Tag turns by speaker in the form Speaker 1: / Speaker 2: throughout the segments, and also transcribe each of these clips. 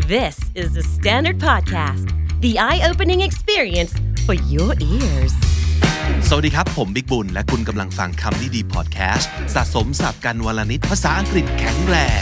Speaker 1: This is the Standard Podcast, the eye-opening experience for your ears.
Speaker 2: สวัสดีครับผมบิ๊กบุญและคุณกำลังฟังคำนี้ดีพอดแคสต์สะสมศัพท์กันวลนิดภาษาอังกฤษแข็งแรง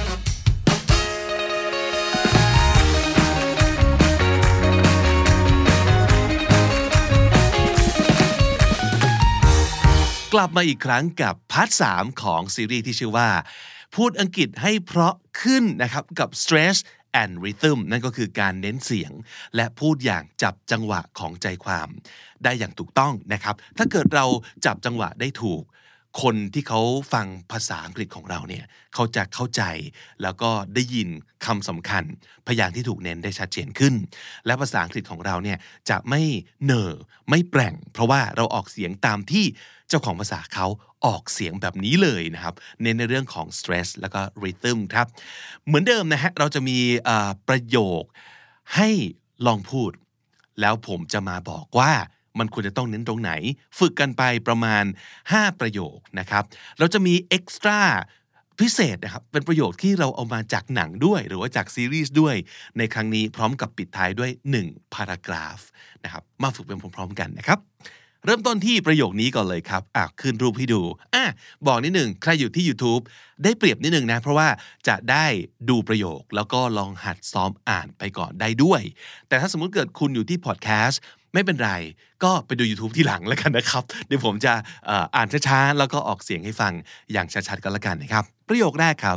Speaker 2: กลับมาอีกครั้งกับพาร์ท 3 ของซีรีส์ที่ชื่อว่าพูดอังกฤษให้เพราะขึ้นนะครับกับ stress and rhythm นั่นก็คือการเน้นเสียงและพูดอย่างจับจังหวะของใจความได้อย่างถูกต้องนะครับถ้าเกิดเราจับจังหวะได้ถูกคนที่เขาฟังภาษาอังกฤษของเราเนี่ยเขาจะเข้าใจแล้วก็ได้ยินคำสำคัญพยางค์ที่ถูกเน้นได้ชัดเจนขึ้นและภาษาอังกฤษของเราเนี่ยจะไม่เหน่อไม่แปร่งเพราะว่าเราออกเสียงตามที่เจ้าของภาษาเขาออกเสียงแบบนี้เลยนะครับเน้นในเรื่องของ stress แล้วก็ rhythm ครับเหมือนเดิมนะฮะเราจะมีประโยคให้ลองพูดแล้วผมจะมาบอกว่ามันควรจะต้องเน้นตรงไหนฝึกกันไปประมาณ5ประโยคนะครับเราจะมี extra พิเศษนะครับเป็นประโยคที่เราเอามาจากหนังด้วยหรือว่าจากซีรีส์ด้วยในครั้งนี้พร้อมกับปิดท้ายด้วย1 paragraph นะครับมาฝึกเป็นพร้อมๆกันนะครับเริ่มต้นที่ประโยคนี้ก่อนเลยครับขึ้นรูปให้ดูบอกนิดหนึ่งใครอยู่ที่ YouTube ได้เปรียบนิดหนึ่งนะเพราะว่าจะได้ดูประโยคแล้วก็ลองหัดซ้อมอ่านไปก่อนได้ด้วยแต่ถ้าสมมุติเกิดคุณอยู่ที่พอดแคสต์ไม่เป็นไรก็ไปดู YouTube ที่หลังแล้วกันนะครับเดี๋ยวผมจะอ่านช้าๆแล้วก็ออกเสียงให้ฟังอย่างชัดๆกันแล้วกันนะครับประโยคแรกครับ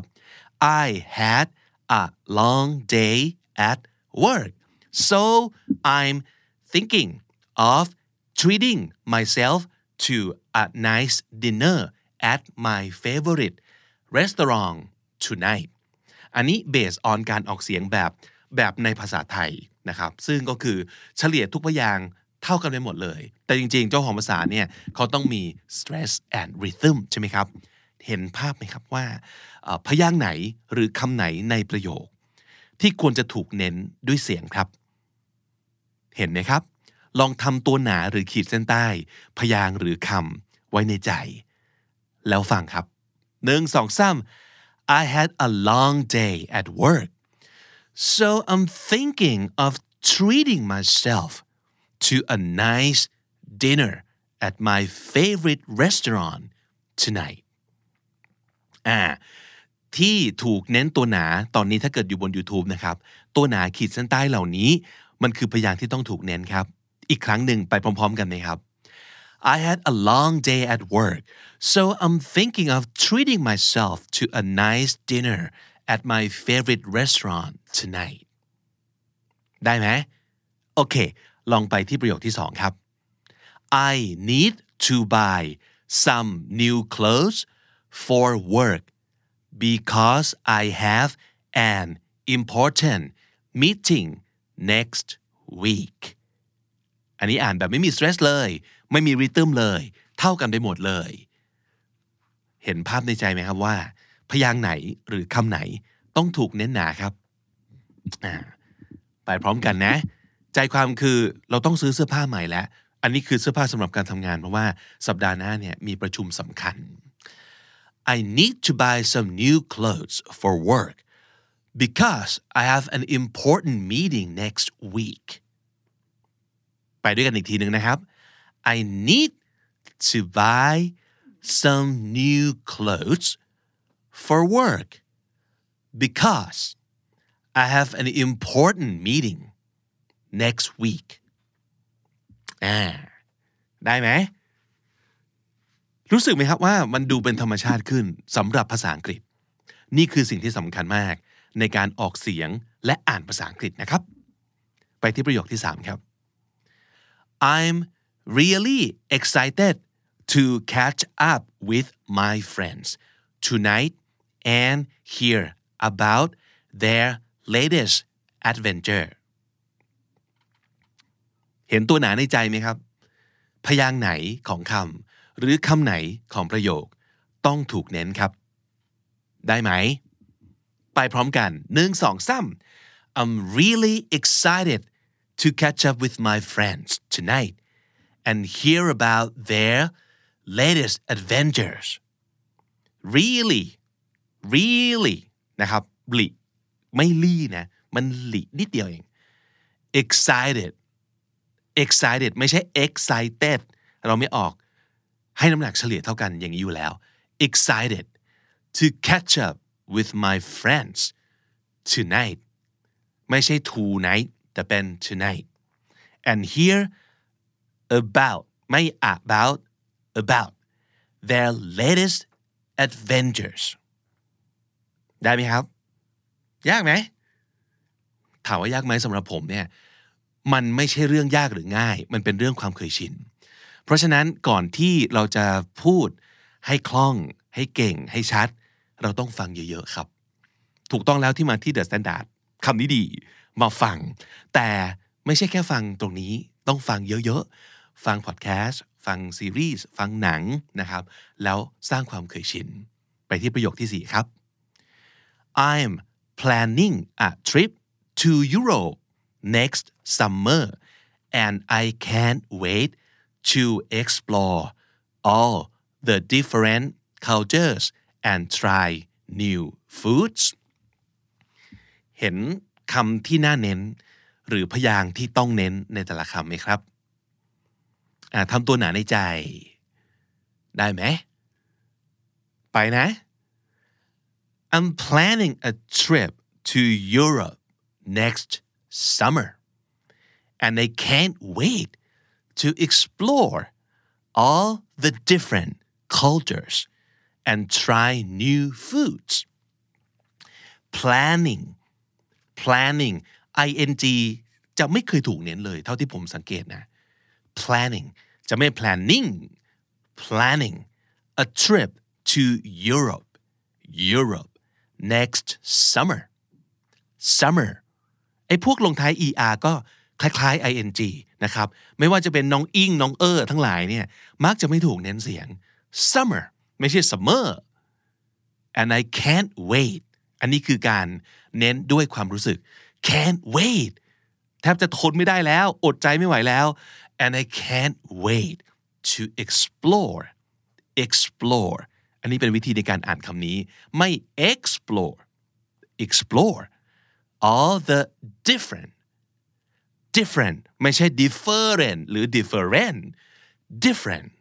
Speaker 2: I had a long day at work so I'm thinking of treating myself to a nice dinner at my favorite restaurant tonight อันนี้ based on การออกเสียงแบบในภาษาไทยนะครับซึ่งก็คือเฉลี่ยทุกพยางค์เท่ากันไปหมดเลยแต่จริงๆเจ้าของภาษาเนี่ยเขาต้องมี stress and rhythm ใช่ไหมครับเห็นภาพไหมครับว่าพยางค์ไหนหรือคำไหนในประโยคที่ควรจะถูกเน้นด้วยเสียงครับเห็นไหมครับลองทำตัวหนาหรือขีดเส้นใต้พยางค์หรือคำไว้ในใจแล้วฟังครับ1 2 3 I had a long day at work so I'm thinking of treating myself to a nice dinner at my favorite restaurant tonight ที่ถูกเน้นตัวหนาตอนนี้ถ้าเกิดอยู่บน YouTube นะครับตัวหนาขีดเส้นใต้เหล่านี้มันคือพยางค์ที่ต้องถูกเน้นครับอีกครั้งหนึ่งไปพร้อมๆกันไหมครับ I had a long day at work so I'm thinking of treating myself to a nice dinner at my favorite restaurant tonight ได้ไหมโอเคลองไปที่ประโยคที่2ครับ I need to buy some new clothes for work because I have an important meeting next week อันนี้อ่านแบบไม่มี stress เลยไม่มี rhythm เลยเท่ากันไปหมดเลยเห็นภาพในใจไหมครับว่าพยางค์ไหนหรือคำไหนต้องถูกเน้นหนาครับไปพร้อมกันนะใจความคือเราต้องซื้อเสื้อผ้าใหม่แล้วอันนี้คือเสื้อผ้าสำหรับการทำงานเพราะว่าสัปดาห์หน้าเนี่ยมีประชุมสำคัญ I need to buy some new clothes for work because I have an important meeting next week ไปด้วยกันอีกทีนึงนะครับ I need to buy some new clothes for work because I have an important meeting next week ได้ไหมรู้สึกไหมครับว่ามันดูเป็นธรรมชาติขึ้นสำหรับภาษาอังกฤษนี่คือสิ่งที่สำคัญมากในการออกเสียงและอ่านภาษาอังกฤษนะครับไปที่ประโยคที่3ครับ I'm really excited to catch up with my friends tonight and hear about their latest adventure เห็นตัวหนาในใจไหมครับพยางค์ไหนของคำหรือคำไหนของประโยคต้องถูกเน้นครับได้ไหมไปพร้อมกัน1 2 3 I'm really excited to catch up with my friends tonight and hear about their latest adventures really นะครับไม่ลี่นะมันหลีนิดเดียวเอง excited ไม่ใช่ excited เราไม่ออกให้น้ำหนักเฉลี่ยเท่ากันอย่างนี้อยู่แล้ว excited to catch up with my friends tonight ไม่ใช่ tonight แต่เป็น tonight and hear about ไม่ about their latest adventures ได้ไหมครับยากไหมถามว่ายากไหมสำหรับผมเนี่ยมันไม่ใช่เรื่องยากหรือง่ายมันเป็นเรื่องความเคยชินเพราะฉะนั้นก่อนที่เราจะพูดให้คล่องให้เก่งให้ชัดเราต้องฟังเยอะๆครับถูกต้องแล้วที่มาที่ The Standard คำนี้ดีมาฟังแต่ไม่ใช่แค่ฟังตรงนี้ต้องฟังเยอะๆฟังพอดแคสต์ฟังซีรีส์ฟังหนังนะครับแล้วสร้างความเคยชินไปที่ประโยคที่4ครับ I'm planning a trip to Europe next summer and I can't wait to explore all the different cultures and try new foods เห็นคำที่น่าเน้นหรือพยางค์ที่ต้องเน้นในแต่ละคำไหมครับทำตัวหนาในใจได้ไหมไปนะ I'm planning a trip to Europe next summer and I can't wait to explore all the different cultures and try new foods planning ing จะไม่เคยถูกเน้นเลยเท่าที่ผมสังเกตนะ planning จะไม่ planning a trip to Europe next summer ไอ้พวกลงท้าย er ก็คล้ายๆ ing นะครับไม่ว่าจะเป็นน้องอิงน้องทั้งหลายเนี่ยมักจะไม่ถูกเน้นเสียง summer ไม่ใช่ summer and I can't wait อันนี้คือการเน้นด้วยความรู้สึก can't wait แทบจะทนไม่ได้แล้วอดใจไม่ไหวแล้ว and I can't wait to explore อันนี้เป็นวิธีในการอ่านคำนี้ไม่ explore all the different ไม่ใช่ different หรือ different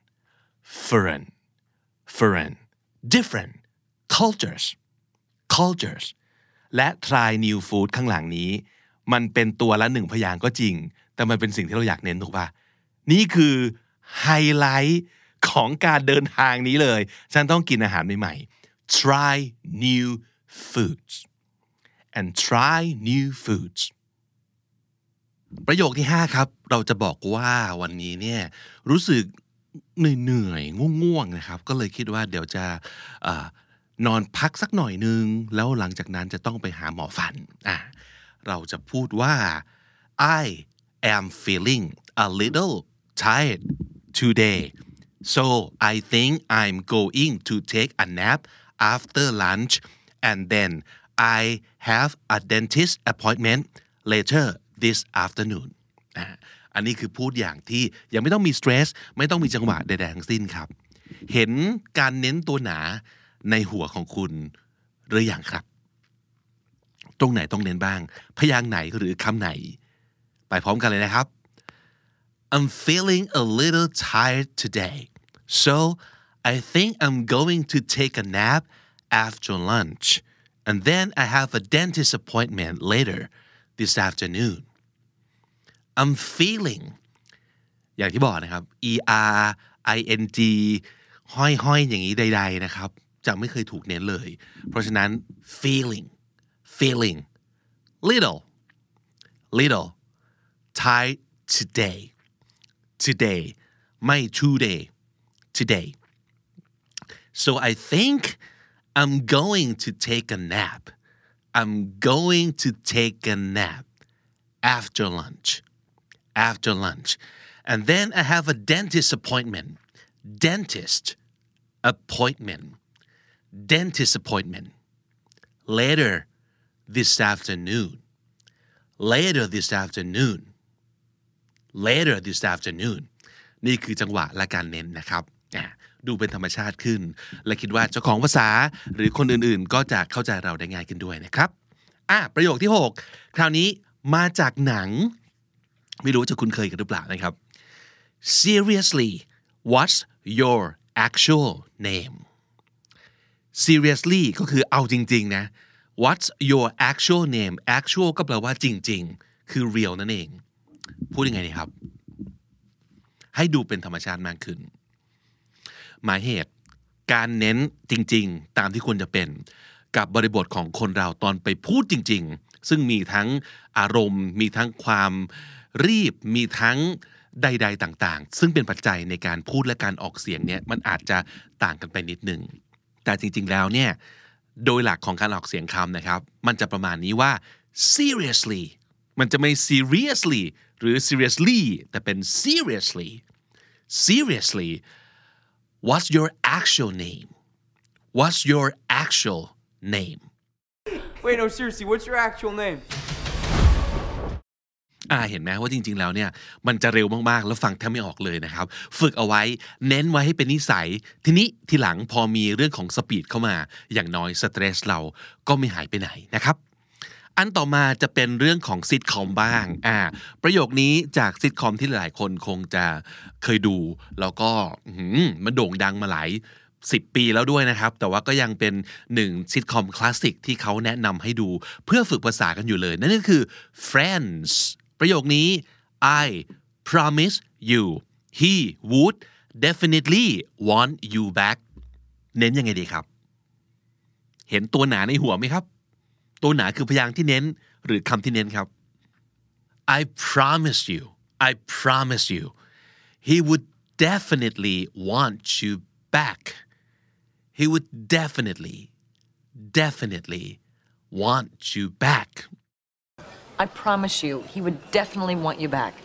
Speaker 2: cultures และ try new food ข้างหลังนี้มันเป็นตัวละ1พยางค์ก็จริงแต่มันเป็นสิ่งที่เราอยากเน้นถูกป่ะนี่คือไฮไลท์ของการเดินทางนี้เลยฉันต้องกินอาหารใหม่ๆ try new foods and try new foods ประโยคที่5ครับเราจะบอกว่าวันนี้เนี่ยรู้สึกเหนื่อยง่วงๆนะครับก็เลยคิดว่าเดี๋ยวจะนอนพักสักหน่อยนึงแล้วหลังจากนั้นจะต้องไปหาหมอฟันเราจะพูดว่า I am feeling a little tired today so I think I'm going to take a nap after lunch and then I have a dentist appointment later this afternoon อันนี้คือพูดอย่างที่ยังไม่ต้องมีสเตรสไม่ต้องมีจังหวะใดๆทั้งสิ้นครับเห็นการเน้นตัวหนาในหัวของคุณหรือยังครับตรงไหนต้องเน้นบ้างพยางค์ไหนหรือคำไหนไปพร้อมกันเลยนะครับ I'm feeling a little tired today so I think I'm going to take a nap after lunch and then I have a dentist appointment later this afternoon I'm feeling อย่างที่บอกนะครับ er ing ห้อยๆอย่างนี้ใดๆนะครับจะไม่เคยถูกเน้นเลยเพราะฉะนั้น feeling little tired today ไม่ today so I think I'm going to take a nap after lunch and then I have a dentist appointment later this afternoonนี่คือจังหวะและการเน้นนะครับดูเป็นธรรมชาติขึ้นและคิดว่าเจ้าของภาษาหรือคนอื่นๆก็จะเข้าใจเราได้ง่ายขึ้นด้วยนะครับประโยคที่6คราวนี้มาจากหนังไม่รู้จะคุ้นเคยกันหรือเปล่านะครับ Seriously what's your actual name Seriously ก็คือเอาจริงๆนะ What's your actual name actual ก็แปลว่าจริงๆคือ real นั่นเองพูดยังไงดีครับให้ดูเป็นธรรมชาติมากขึ้นหมายเหตุการเน้นจริงๆตามที่ควรจะเป็นกับบริบทของคนเราตอนไปพูดจริงๆซึ่งมีทั้งอารมณ์มีทั้งความรีบมีทั้งใดๆต่างๆซึ่งเป็นปัจจัยในการพูดและการออกเสียงเนี่ยมันอาจจะต่างกันไปนิดนึงแต่จริงๆแล้วเนี่ยโดยหลักของการออกเสียงคำนะครับมันจะประมาณนี้ว่า seriously มันจะไม่ seriously หรือ seriously แต่เป็น seriously what's your actual name what's your actual name
Speaker 3: Wait no seriously what's your actual name
Speaker 2: เห็นไหมว่าจริงๆแล้วเนี่ยมันจะเร็วมากๆแล้วฟังแทบไม่ออกเลยนะครับฝึกเอาไว้เน้นไว้ให้เป็นนิสัยทีนี้ทีหลังพอมีเรื่องของสปีดเข้ามาอย่างน้อยสเตรสเราก็ไม่หายไปไหนนะครับอันต่อมาจะเป็นเรื่องของซิทคอมบ้างประโยคนี้จากซิทคอมที่หลายคนคงจะเคยดูแล้วก็มันโด่งดังมาหลาย10 ปีแล้วด้วยนะครับแต่ว่าก็ยังเป็น1ซิทคอมคลาสสิกที่เขาแนะนำให้ดูเพื่อฝึกภาษากันอยู่เลยนั่นก็คือ Friends ประโยคนี้ I promise you he would definitely want you back เน้นยังไงดีครับเห็นตัวหนาในหัวไหมครับตัวหนาคือพยางค์ที่เน้นหรือคำที่เน้นครับ I promise you he would definitely want you back he would definitely want you back
Speaker 4: I promise you he would definitely want you back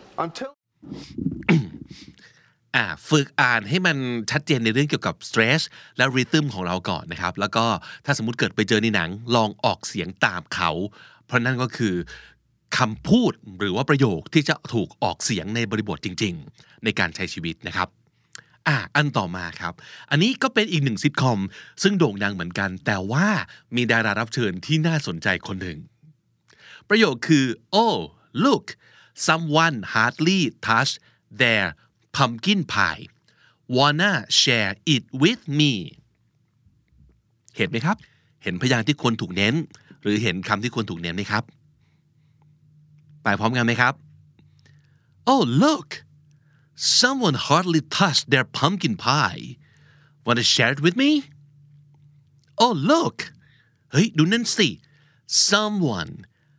Speaker 2: ฝึกอ่านให้มันชัดเจนในเรื่องเกี่ยวกับ stress และ rhythm ของเราก่อนนะครับแล้วก็ถ้าสมมุติเกิดไปเจอในหนังลองออกเสียงตามเขาเพราะนั่นก็คือคำพูดหรือว่าประโยคที่จะถูกออกเสียงในบริบทจริงๆในการใช้ชีวิตนะครับอันต่อมาครับอันนี้ก็เป็นอีก1ซิทคอมซึ่งโด่งดังเหมือนกันแต่ว่ามีดารารับเชิญที่น่าสนใจคนหนึ่งประโยคคือ Oh look someone hardly touched their pumpkin pie wanna share it with me เห็นไหมครับเห็นพยางค์ที่ควรถูกเน้นหรือเห็นคำที่ควรถูกเน้นไหมครับไปพร้อมกันไหมครับ Oh look someone hardly touched their pumpkin pie wanna share it with me Oh look เฮ้ยดูนั่นสิ someone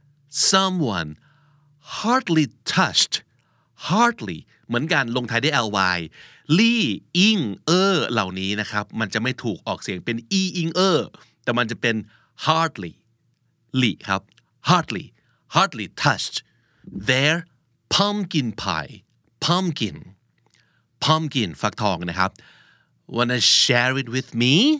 Speaker 2: hardly touched hardly เหมือนกันลงท้ายด้วย ly ลี่อิงเหล่านี้นะครับมันจะไม่ถูกออกเสียงเป็นอีอิงแต่มันจะเป็น hardly ลี่ครับ hardly touched their pumpkin pie pumpkin ฟักทองนะครับ wanna share it with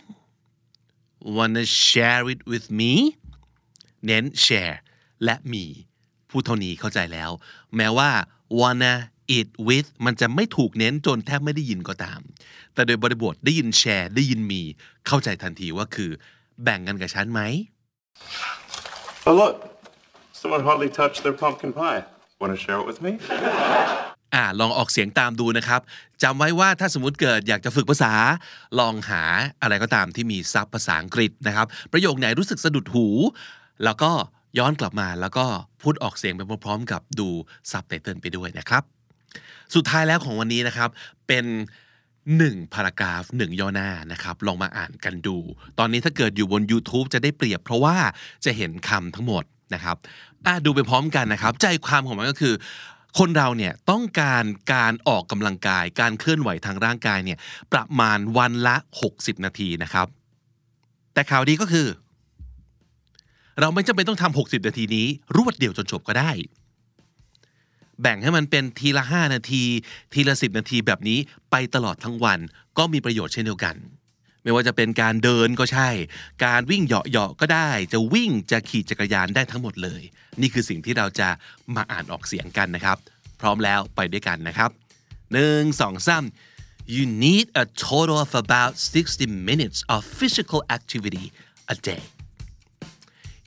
Speaker 2: me เน้น share และมีพูดเท่านี้เข้าใจแล้วแม้ว่า wanna eat with มันจะไม่ถูกเน้นจนแทบไม่ได้ยินก็ตามแต่โดยบริบทได้ยิน share ได้ยินมีเข้าใจทันทีว่าคือแบ่งกันกับฉันไหม
Speaker 5: Oh look someone hardly touched their pumpkin pie wanna share it with me
Speaker 2: ลองออกเสียงตามดูนะครับจำไว้ว่าถ้าสมมุติเกิดอยากจะฝึกภาษาลองหาอะไรก็ตามที่มีซับภาษาอังกฤษนะครับประโยคไหนรู้สึกสะดุดหูแล้วก็ย้อนกลับมาแล้วก็พูดออกเสียงไปพร้อมๆกับดูซับไตเติลไปด้วยนะครับสุดท้ายแล้วของวันนี้นะครับเป็น1พารากราฟ1ย่อหน้านะครับลองมาอ่านกันดูตอนนี้ถ้าเกิดอยู่บน YouTube จะได้เปรียบเพราะว่าจะเห็นคำทั้งหมดนะครับดูไปพร้อมกันนะครับใจความของมันก็คือคนเราเนี่ยต้องการออกกำลังกายการเคลื่อนไหวทางร่างกายเนี่ยประมาณวันละ60นาทีนะครับแต่ข่าวดีก็คือเราไม่จำเป็นต้องทำ60นาทีนี้รวดเดียวจนจบก็ได้แบ่งให้มันเป็นทีละ5นาทีทีละ10นาทีแบบนี้ไปตลอดทั้งวันก็มีประโยชน์เช่นเดียวกันไม่ว่าจะเป็นการเดินก็ใช่การวิ่งเหาะๆก็ได้จะวิ่งจะขี่จักรยานได้ทั้งหมดเลยนี่คือสิ่งที่เราจะมาอ่านออกเสียงกันนะครับพร้อมแล้วไปด้วยกันนะครับ1 2 3 You need a total of about 60 minutes of physical activity a day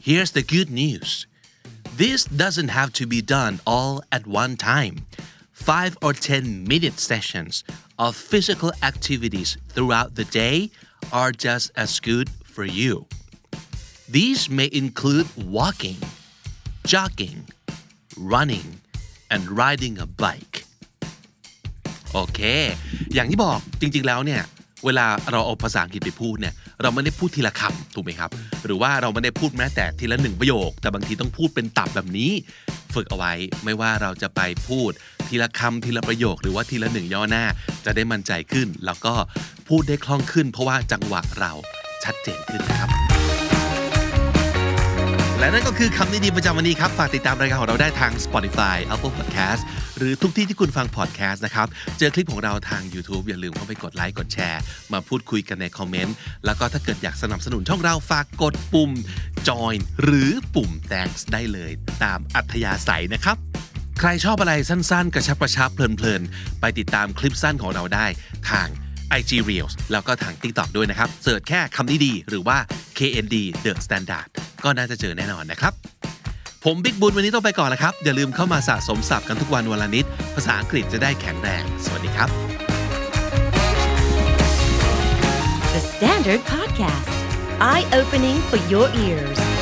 Speaker 2: Here's the good news. This doesn't have to be done all at one time. 5 or 10-minute sessions of physical activities throughout the day are just as good for you. These may include walking, jogging, running, and riding a bike. โอเค อย่างที่บอกจริงๆแล้วเนี่ยเวลาเราเอาภาษาอังกฤษไปพูดเนี่ยเราไม่ได้พูดทีละคำถูกไหมครับหรือว่าเราไม่ได้พูดแม้แต่ทีละ1ประโยคแต่บางทีต้องพูดเป็นตับแบบนี้ฝึกเอาไว้ไม่ว่าเราจะไปพูดทีละคำทีละประโยคหรือว่าทีละ1ย่อหน้าจะได้มั่นใจขึ้นแล้วก็พูดได้คล่องขึ้นเพราะว่าจังหวะเราชัดเจนขึ้นนะครับและนั่นก็คือคำนี้ดีประจำวันนี้ครับฝากติดตามรายการของเราได้ทาง Spotify Apple Podcast หรือทุกที่ที่คุณฟัง podcast นะครับเจอคลิปของเราทาง YouTube อย่าลืมเข้าไปกดไลค์กดแชร์มาพูดคุยกันในคอมเมนต์แล้วก็ถ้าเกิดอยากสนับสนุนช่องเราฝากกดปุ่ม join หรือปุ่ม thanks ได้เลยตามอัธยาศัยนะครับใครชอบอะไรสั้นๆกระชับเพลินๆไปติดตามคลิปสั้นของเราได้ทางIG Reels แล้วก็ทาง TikTok ด้วยนะครับเสิร์ชแค่คำนี้ดีหรือว่า KND The Standard ก็น่าจะเจอแน่นอนนะครับผมบิ๊กบุญวันนี้ต้องไปก่อนแล้วครับอย่าลืมเข้ามาสะสมศัพท์กันทุกวันวันละนิดภาษาอังกฤษจะได้แข็งแรงสวัสดีครับ
Speaker 1: The Standard Podcast Eye Opening for Your Ears